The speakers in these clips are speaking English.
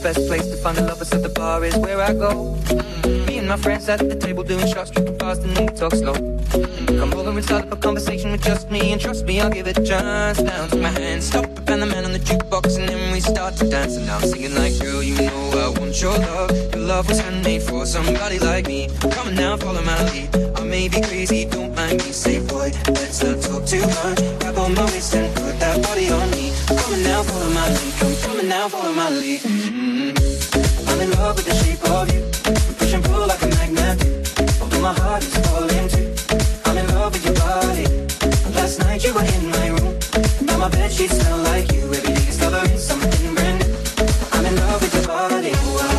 best place to find the lovers, so the bar is where I go. Me and my friends at the table doing shots, tripping fast and then we talk slow. Come over and start up a conversation with just me, and trust me, I'll give it a chance. Now take my hand, stop it, and the man on the jukebox, and then we start to dance. And now I'm singing like, girl, you know I want your love. Your love was handmade for somebody like me. Come on now, follow my lead. I may be crazy, don't mind me. Say, boy, let's not talk too much. Grab on my waist and put that body on me. Come on now, follow my lead. Come on now, follow my lead. I'm in love with the shape of you. We push and pull like a magnet do. Although my heart is falling too. I'm in love with your body. Last night you were in my room. Now my bedsheets smell like you. Every day discovering something brand new. I'm in love with your body.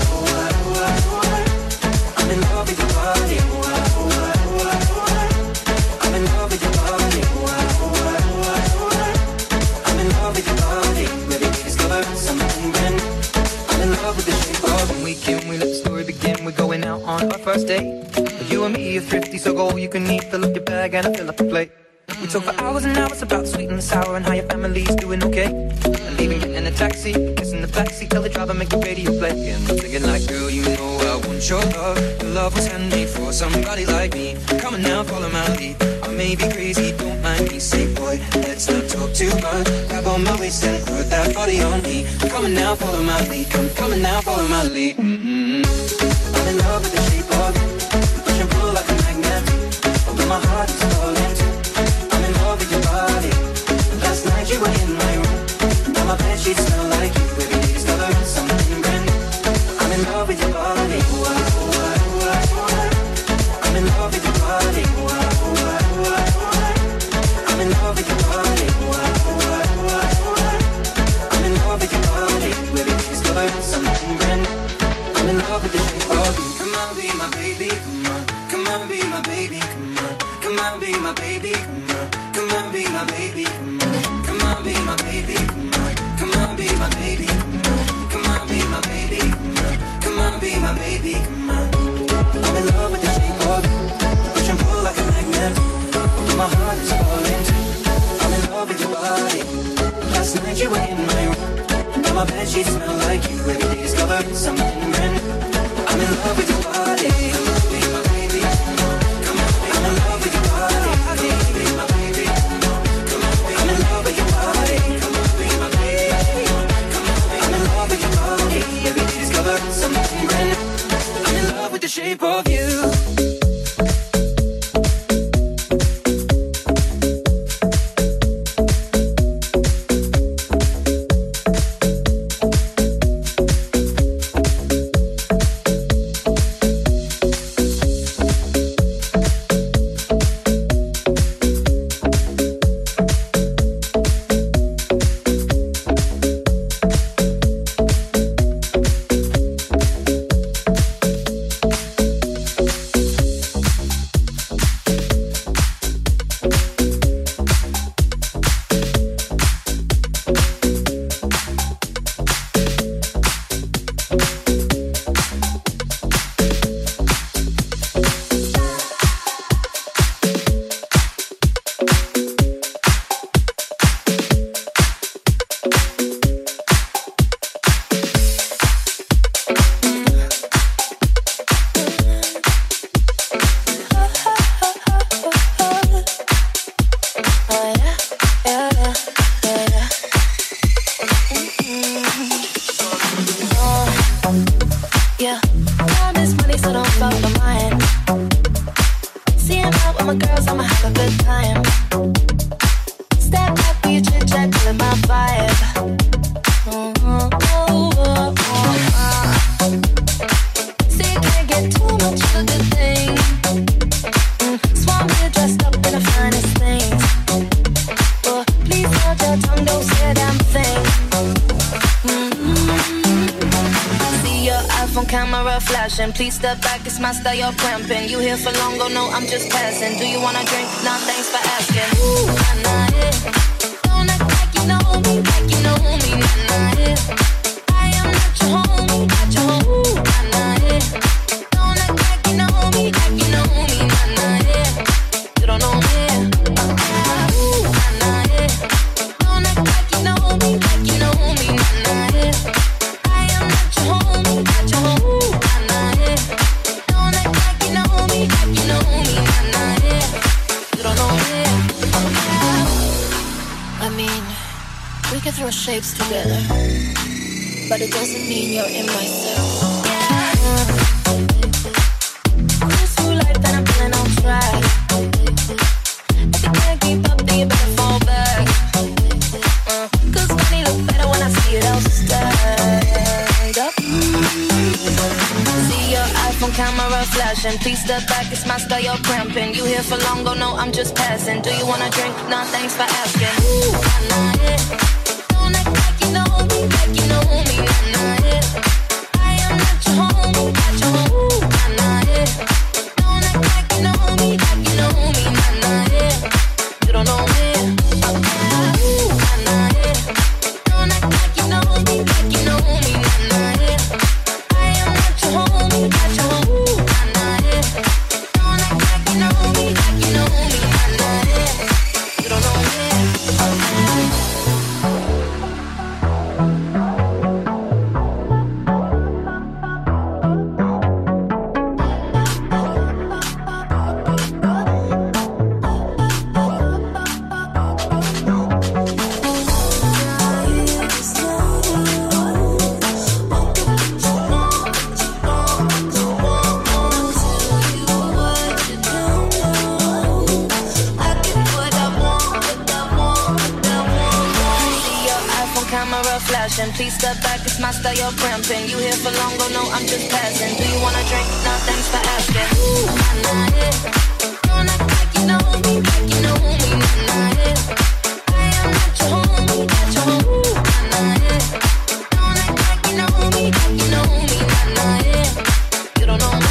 I'm in love with your body. I'm in love with your body. I'm in love with your body. Every day discovering something brand new. I'm in love with the shape of when we can, we let the story begin. We're going out on our first date. You and me are thrifty, so go all you can eat. Fill up your bag and I fill up the plate. We talk for hours and hours about sweet and sour and how your family's doing okay. And leaving, getting in a taxi, kissing the backseat, tell the driver make the radio play. And I'm thinking like, girl, you know I want your love. Your love was handmade for somebody like me. Come on now, follow my lead. I may be crazy, don't mind me. Say, boy, let's not talk too much. Grab on my waist and put that body on me. Come on now, follow my lead. Come on now, follow my lead. I'm in love with the shape of you. Push and pull like a magnet. Although my heart is falling too. I'm in love with your body. Last night you were in my room. Now my bedsheets smell like you. Every day discovering something brand new. I'm in love with your body. I'm in love with your body. I'm in love with your body. I'm in love with your body. Every day discovering something brand new. I'm in love with the shape of you. Come on, be my baby, come on. Come on, be my baby, come on. Come on, be my baby, come on. Come on, be my baby, come on. Come on, be my baby, come on. Come on, be my baby, come on. Come on, be my baby, come on. Come on, be my baby, come on. I'm in love with the shape of you. Push and pull like a magnet. My heart is falling too. I'm in love with your body. Last night you were in my room. Now my bedsheets smell like you. Every day discovering something brand new. I'm in love with your body. Be my baby. Come on, I'm in love with your body. Be my baby. Come on, I'm in love with your body. Come on, be my baby. Come on, I'm in love with your body. Every day discovering something brand new. I'm in love with the shape of you. Please step back, it's my style, you're cramping. You here for long, go no, I'm just passing. Do you wanna drink? Nah, thanks for asking. Ooh, nah, nah, yeah. Don't act like you know me, like you know me, nah, nah, yeah. I am not your homie, not your homie. Ooh, nah, nah, yeah. Don't act like you know me, like you know me, nah, nah, yeah. You don't know me, ooh, nah, nah, yeah. Don't act like you know me, like you know me, nah, nah, yeah. I am not your homie. We can throw shapes together, but it doesn't mean you're in my circle. This new life that I'm feeling on track. If you can't keep up, then you better fall back. Cause money look better when I see it all stacked up. See your iPhone camera flashing. Please step back, it's my style, you're cramping. You here for long, go no, I'm just passing. Do you wanna drink? Nah, thanks for asking. Ooh, nah, yeah. Don't act like you know me, like you know me, nah, yeah. I am not your homie, not your homie, nah, yeah. Don't act like you know me, like you know me, nah, yeah. You don't know me, ooh, nah, yeah. Don't act like you know me, like you know me, nah, yeah. I am not your homie, not your homie, nah, yeah. Don't act like you know me, like you know me, nah, yeah. You don't know me, please step back, it's my style, you're cramping. You here for long, go no, I'm just passing. Do you wanna drink? Nah, thanks for asking. Ooh, nah, yeah. Don't act like you know me, like you know me, nah, yeah. I am not your homie, not your homie, nah, yeah. Don't act like you know me, like you know me, nah, yeah. You don't know me.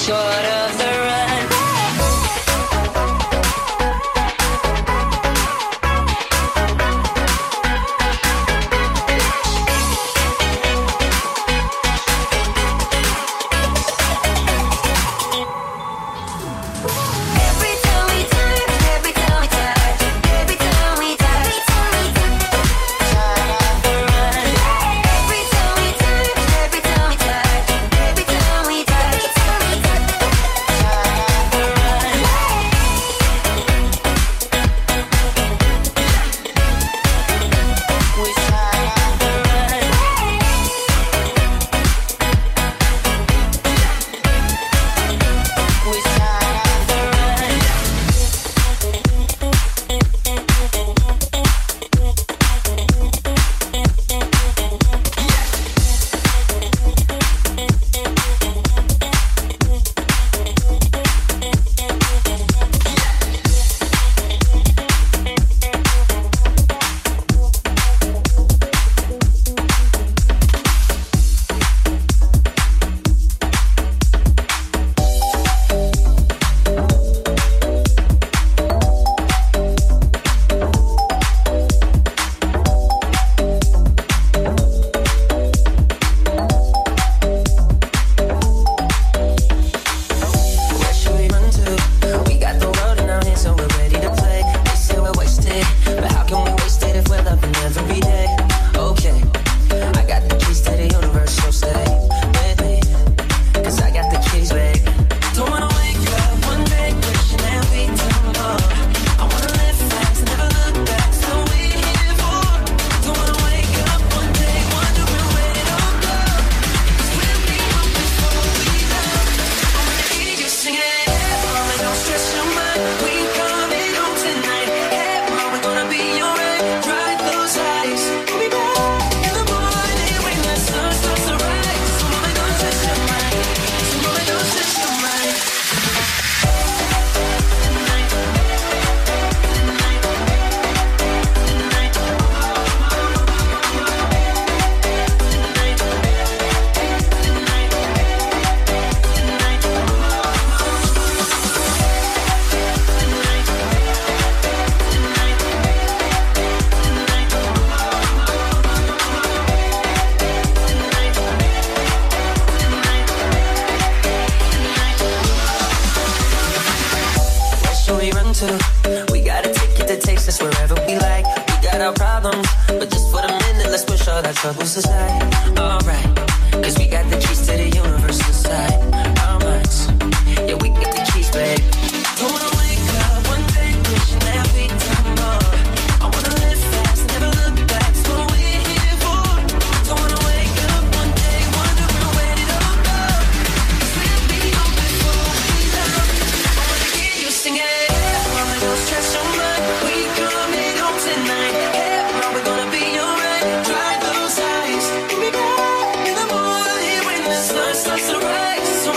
short of the run. We got a ticket that takes us wherever we like. We got our problems, but just for the minute, let's push all our troubles aside. Alright, cause we got the keys to the universe inside our minds. Yeah, we got the keys, babe. Don't wanna wake up one day wishing that we'd done more. I wanna live fast, never look back, that's what we're here for. Don't wanna wake up one day wondering where did it all go. Cause we'll be on before we love. I wanna hear you singing. Don't stress so much, we coming home tonight. Yeah, we're gonna be alright. Dry those eyes, we'll be back in the morning when the sun starts to rise. So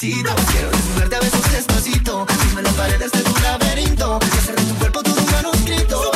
despacito. Quiero desnudarte a besos despacito. Firma las paredes de tu laberinto y hacer de tu cuerpo todo un manuscrito.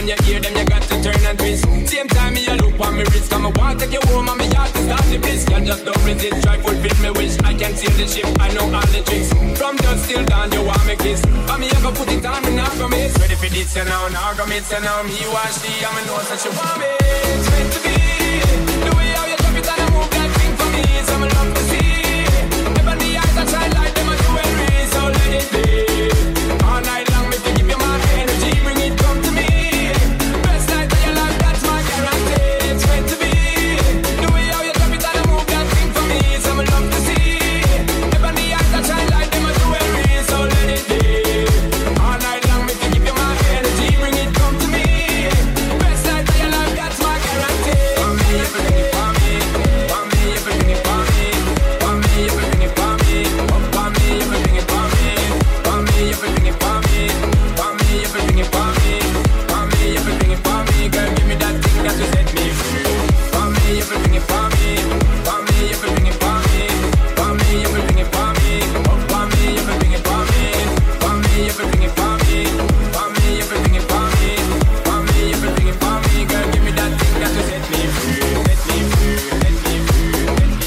when you hear them, you got to turn and twist. Same time me a look on me wrist, come I want take you home and me heart to start the bliss. Can just don't resist, try fulfill me wish. I can sail the ship, I know all the tricks. From dusk till dawn, you want me kiss. And me ever put it on, me not go miss. Ready for this, you know, now go miss, you know. Me watch the, and me know that you want me. It's meant to be. The way how you drop it and I move that thing for me, so me love to see. Never the eyes that shine like them a jewelry, so let it be. All night long, me to give you my energy, bring it come to me. Best night of your life, that's my guarantee. It's meant to be. The way how you drop it and I move that thing for me, so me love to see. Never the eyes that shine like them a jewelry, so let it be. All night long, me to give you my energy, bring it come to me. Best night of your life, that's my guarantee. For me, everything is for me. For me, everything is for me. For me, everything is for me. For me, everything is for me. For me, everything is for me. For me, everything is for me. For me, everything is for me. Girl, give me that thing that will set me free. For me, everything is for me. For me, everything is for me. For me, everything is for me. For me, everything is for me. For me, everything is for me. For me, everything is for me. For me, everything is for me. Girl, give me that thing that will set me free. Set me free. Set me free. Set me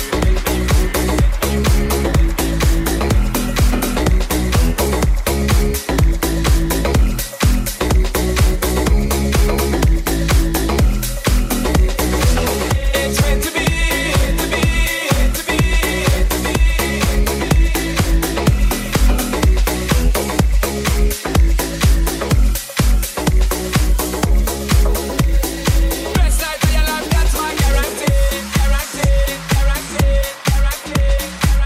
It's meant to be, to be, to be, to be. Best night of your life, that's my guarantee. Guarantee, guarantee, guarantee,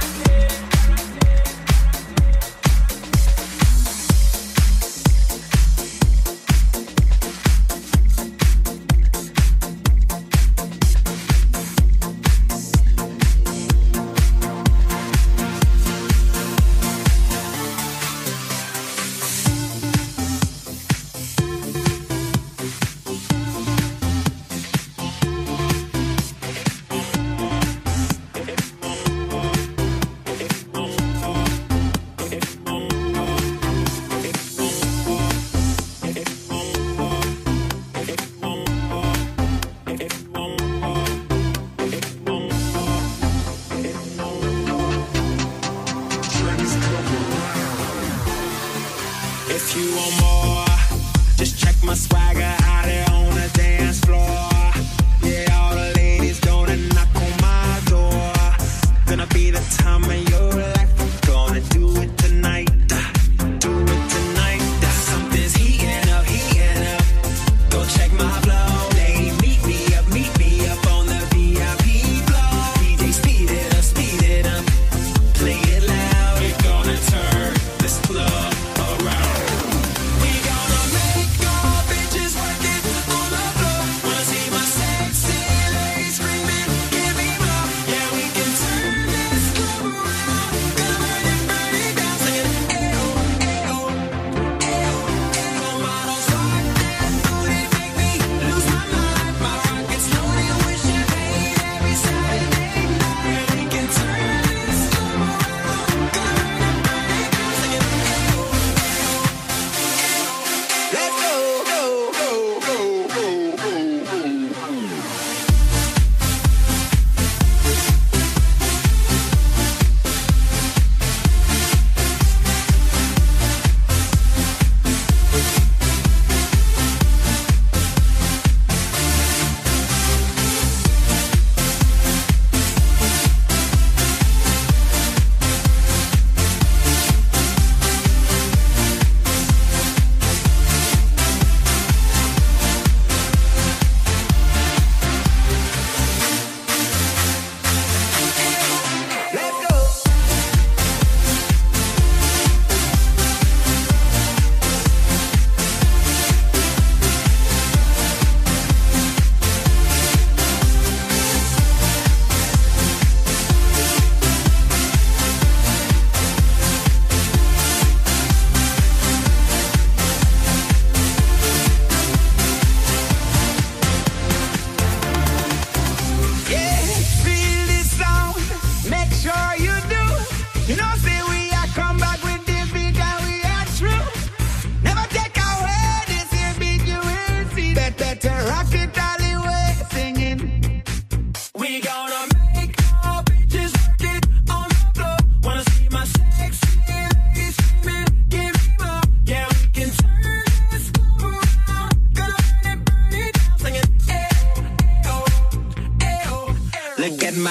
If you want more, just check my swagger out there on the dance floor. Yeah, all the ladies gonna knock on my door. Gonna be the time of your life. Gonna do it tonight. Do it tonight. Something's heating up, heating up. Go check my flow. Lady, meet me up on the VIP floor. DJ, speed it up, play it loud. We're gonna turn this club around. We gonna make all bitches work.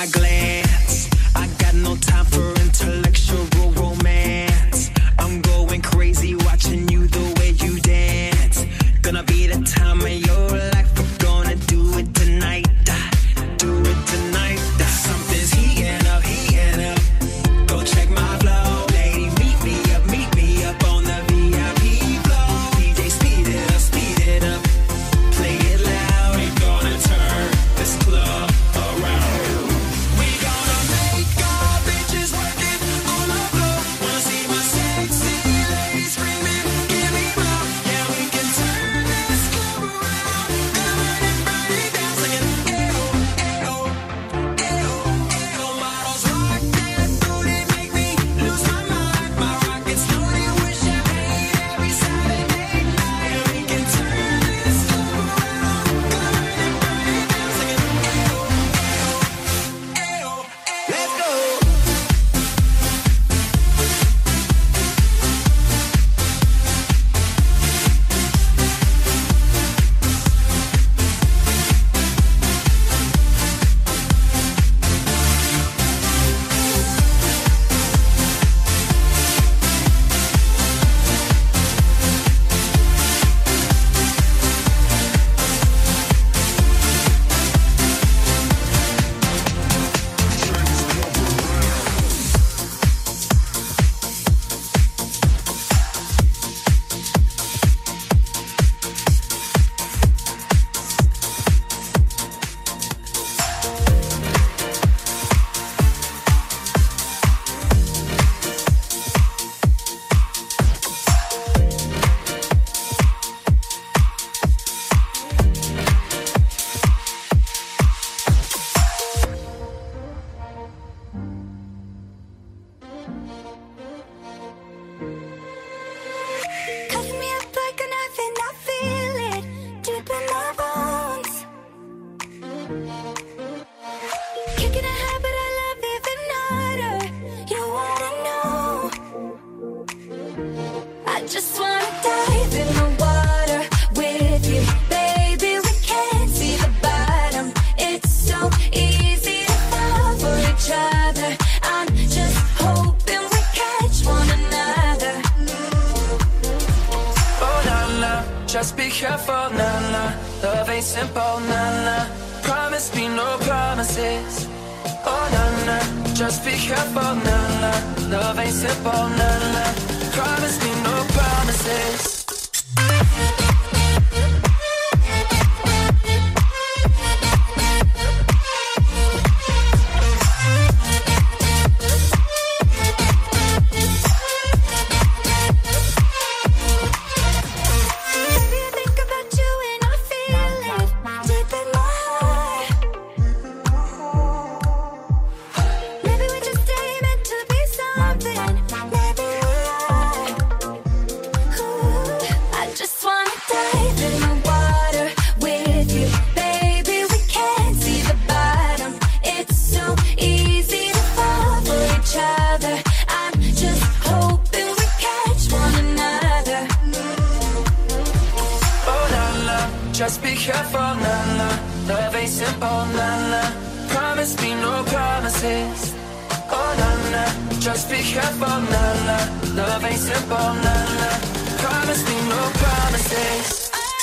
my glance. I got no time for intellectual romance. I'm going crazy watching you the way you dance. Gonna be the time of your life. We're gonna do it tonight. Do it tonight. Something's heating up, heating up. Go check my flow, lady. Meet me up on the VIP floor. DJ, speed it up, play it loud. We gonna turn this club around. We gonna make our bitches work it on the floor. Wanna see my sexy ladies screaming, give me more. Yeah, we can turn this club around. Gonna burn it down, singing, ayo, ayo, ayo, ayo. Models rock that booty, make me lose my mind. My rockets loaded with champagne every Saturday night. Yeah, we can turn this club around. Gonna burn it down, singing, ayo, ayo, ayo, ayo. Let's go. Cutting me up like a knife and I feel it deep in my bones. Kicking a habit I love even harder. You wanna know? I just wanna dive in the water with you, baby. We can't see the bottom. It's so easy to fall for each other. I'm just hoping we catch one another. Oh na na, just be careful, na na. Love ain't simple, na na. Promise me no promises. Oh na na, just be careful, na na. Love ain't simple, na na. Promise me no promises. Baby, I think about you and I feel it deep in my heart. Maybe we just ain't meant to be something. Maybe we are. Ooh, I just wanna dive in the water with you, baby. We can't see the bottom. It's so easy to fall for each other. I'm just hoping we catch one another. Oh na na, just be careful, na na. Love ain't simple, na na. Promise me no promises. Oh na na, just be careful, na na. Love ain't simple, na na. Promise me no promises.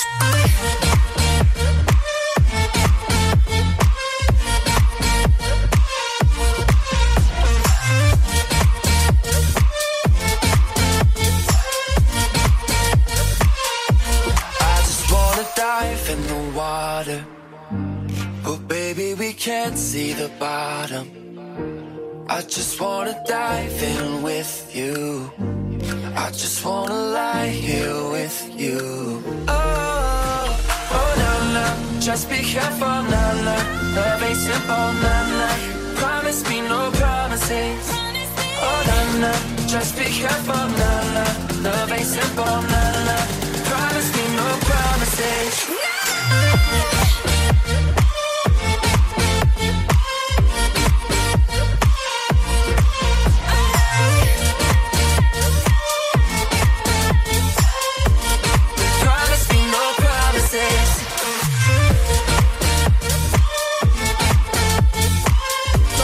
I just wanna dive in the water, but baby we can't see the bottom. I just wanna dive in with you. I just wanna lie here with you. Oh, oh na na, just be careful, na na. Love ain't simple, na na. Promise me no promises. Oh na na, just be careful, na na. Love ain't simple, na na. Promise me no promises. Promise me no promises.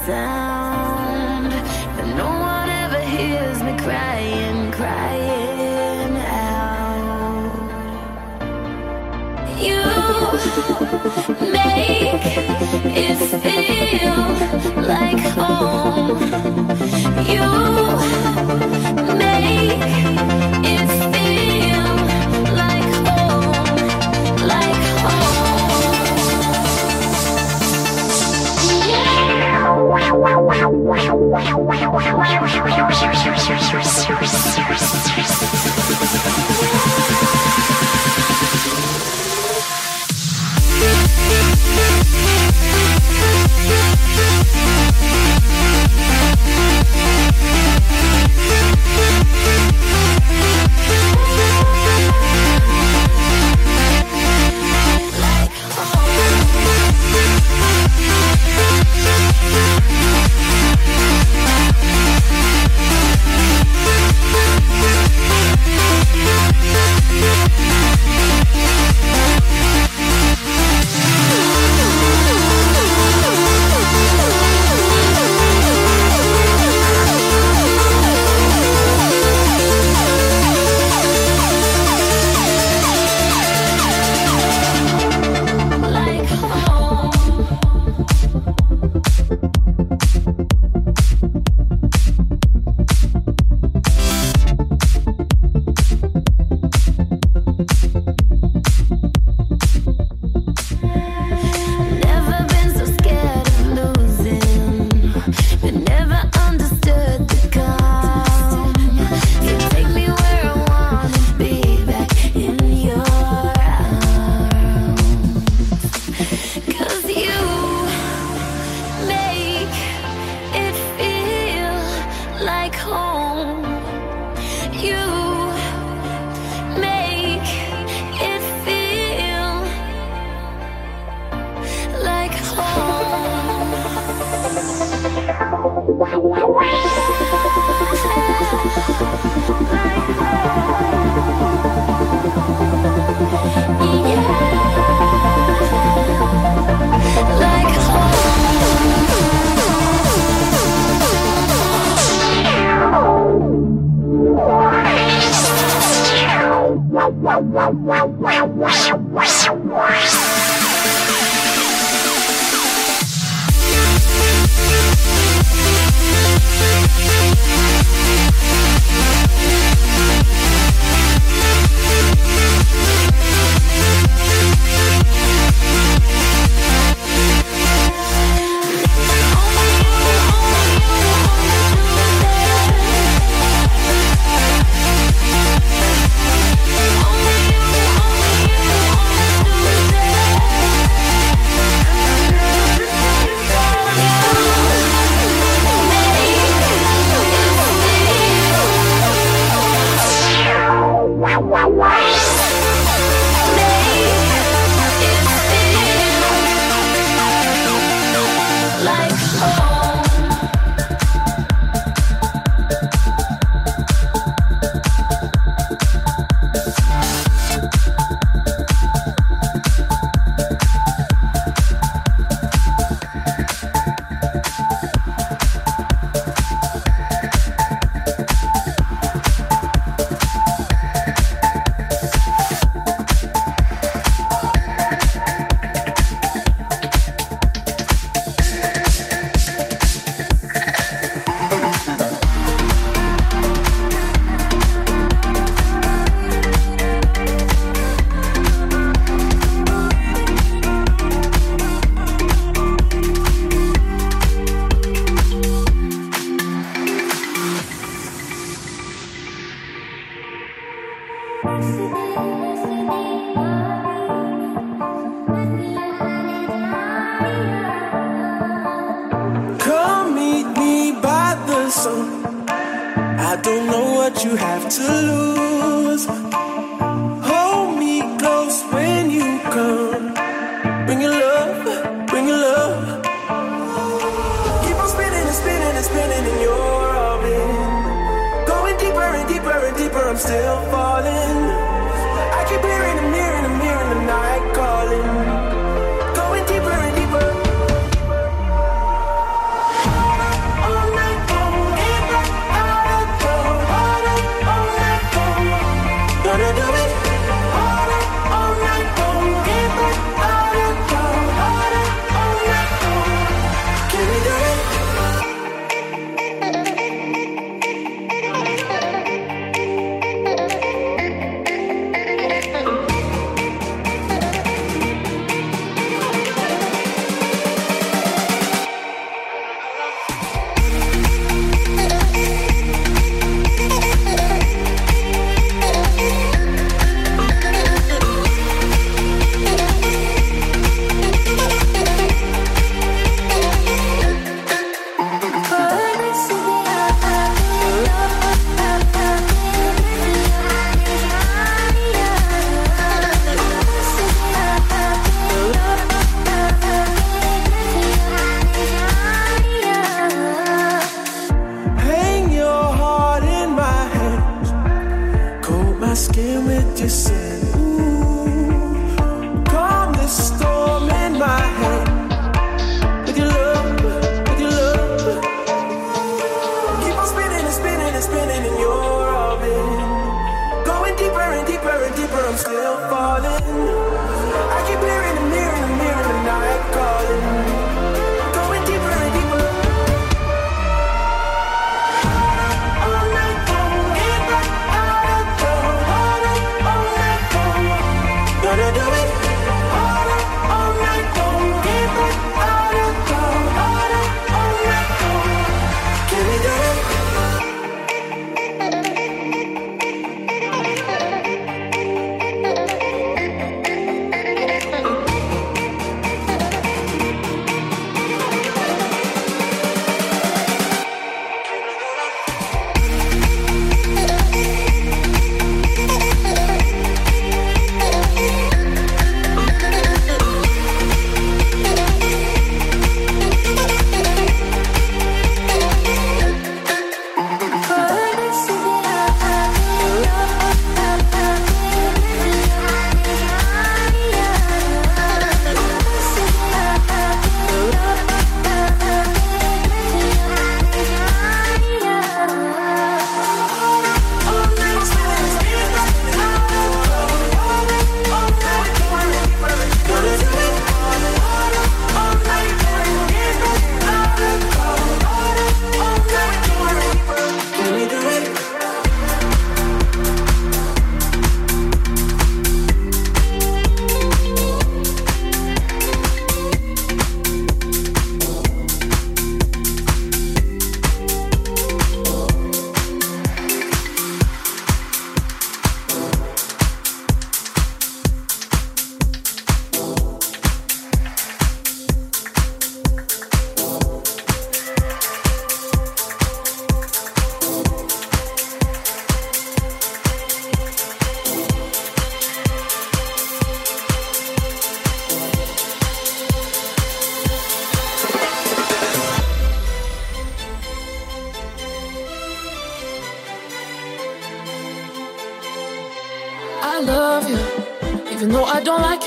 sound, but no one ever hears me crying, crying out. You make it feel like home. You make it feel like home, like home. Come meet me by the sun. I don't know what you have to lose. Hold me close when you come. Bring your love, bring your love. Keep on spinning and spinning and spinning in your orbit. Going deeper and deeper and deeper, I'm still falling. I keep hearing the mirror in the mirror in the night calling. Going deeper and deeper.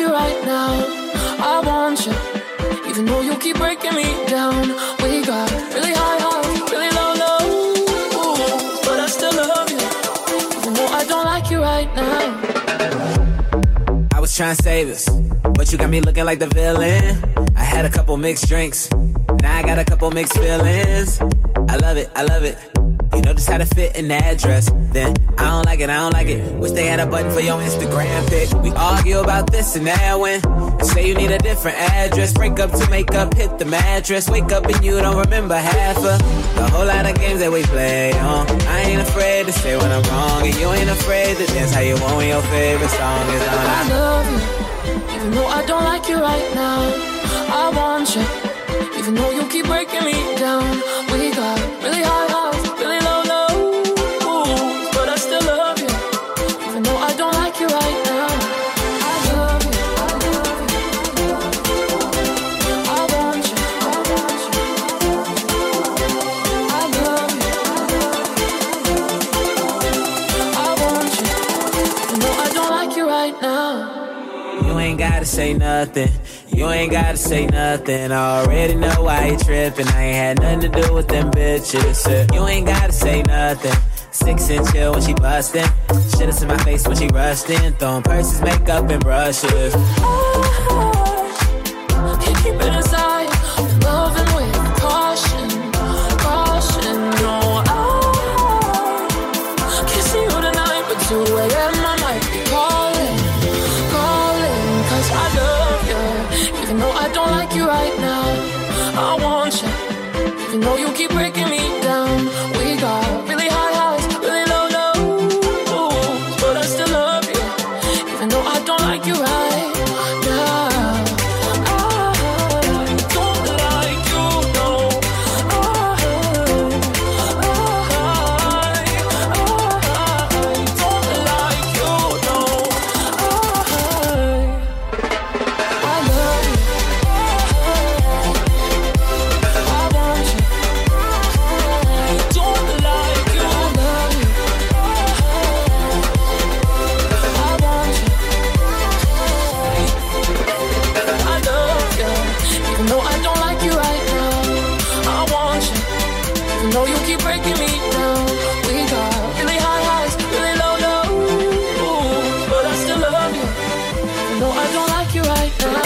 you right now. I want you, even though you keep breaking me down. We got really high highs, really low lows, but I still love you, even though I don't like you right now. I was trying to save us, but you got me looking like the villain. I had a couple mixed drinks, now I got a couple mixed feelings. I love it, I love it. You know just how to fit in that dress. Then I don't like it, I don't like it. Wish they had a button for your Instagram pic. We argue about this and that when you say you need a different address. Break up to make up, hit the mattress. Wake up and you don't remember half of the whole lot of games that we play on. I ain't afraid to say when I'm wrong, and you ain't afraid to dance how you want when your favorite song is on. I love you, even though I don't like you right now. I want you, even though you keep breaking me down. We got really high highs, really low lows, but I still love you, even though I don't like you right now. I love you, I love you, I want you, I want you. I love you, I want you, even though I don't like you right now. You ain't gotta say nothing. You ain't gotta say nothing. I already know why you tripping. I ain't had nothing to do with them bitches. You ain't gotta say nothing. 6 and chill when she bustin'. Shit in my face when she rushed in. Throwing purses, makeup, and brushes. Can't keep it inside. Loving with caution, caution. No, I can't see you tonight, but 2 a.m. I might be calling, calling. 'Cause I love you, even though I don't like you right now. I want you, even though you keep breaking me down. We got really high highs, really low lows, but I still love you, even though I don't like you right now. No, you keep breaking me down. We got really high highs, really low lows, but I still love you. No, I don't like you right now.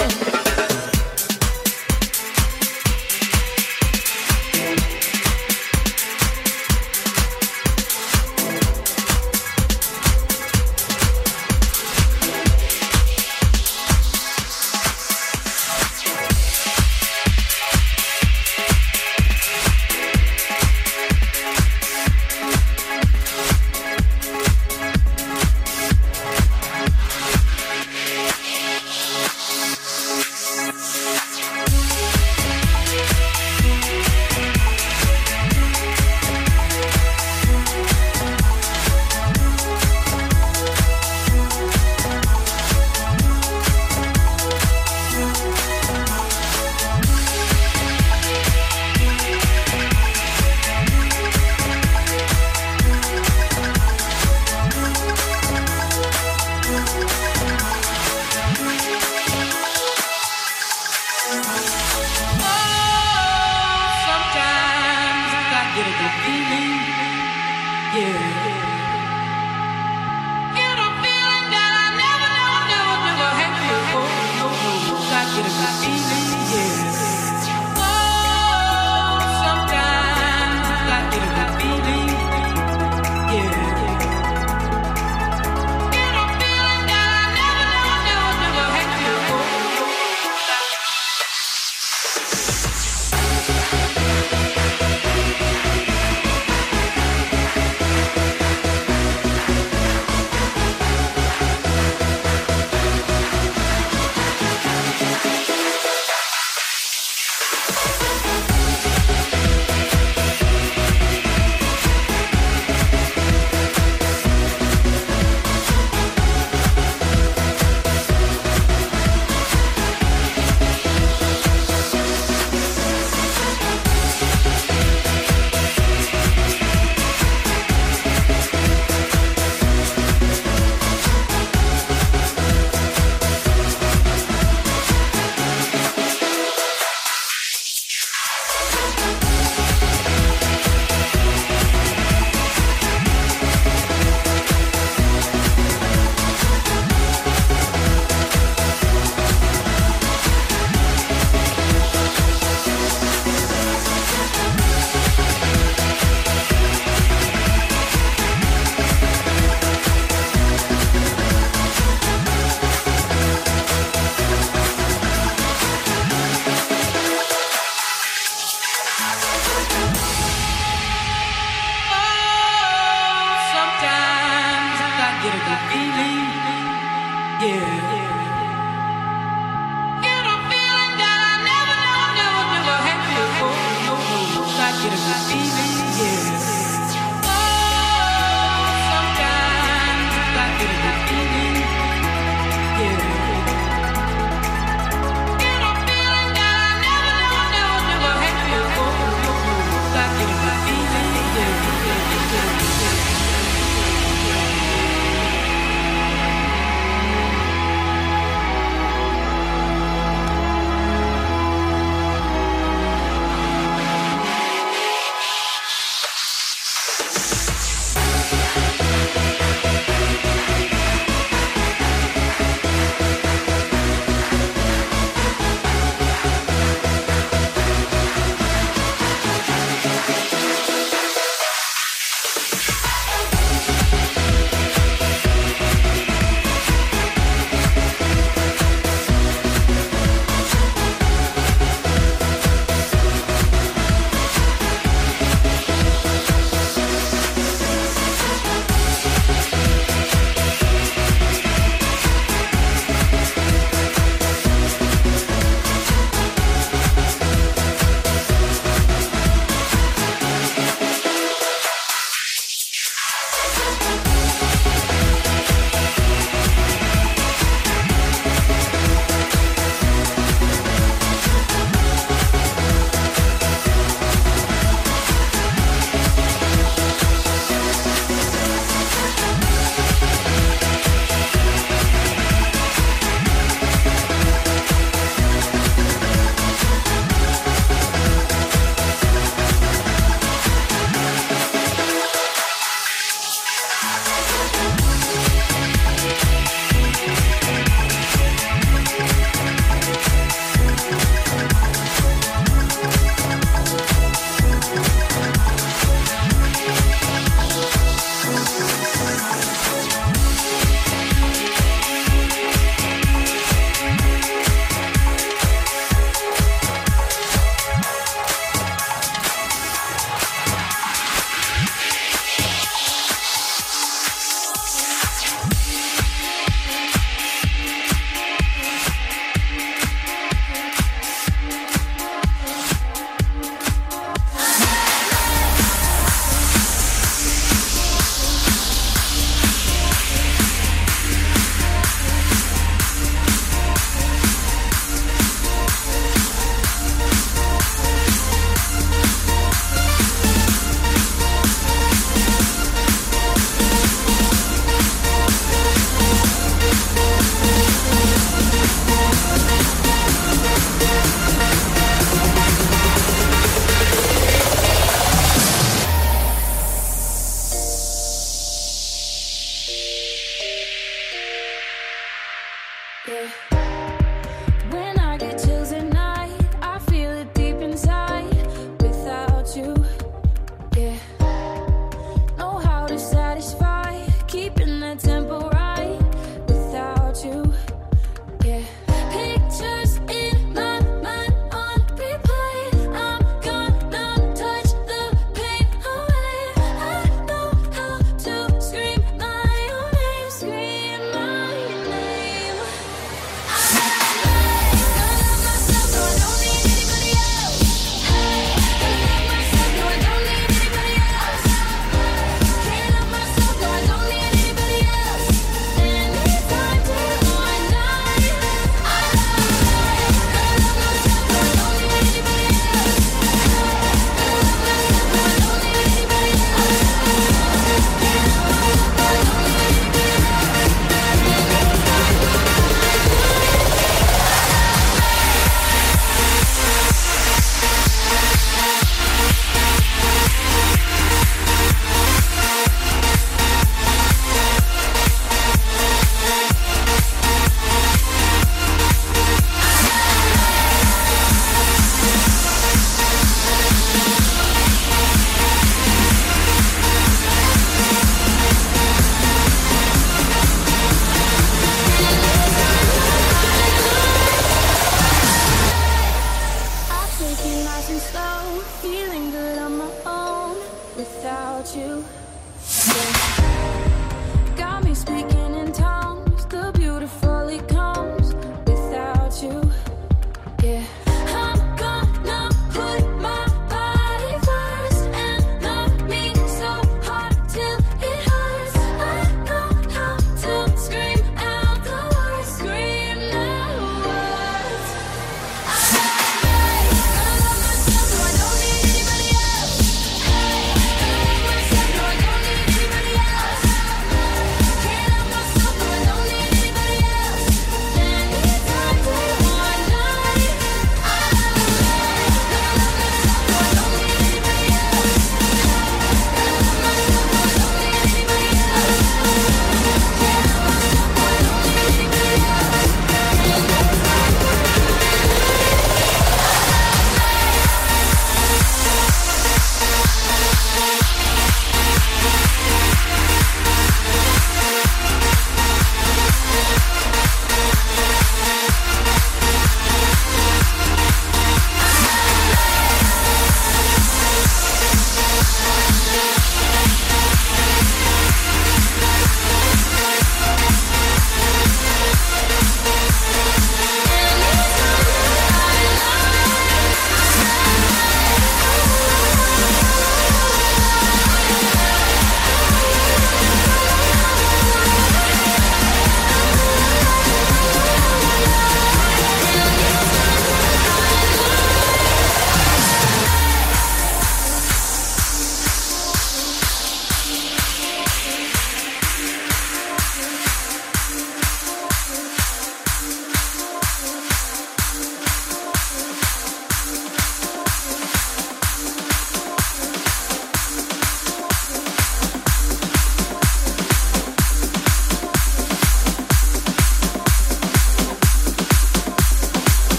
Get a good feeling.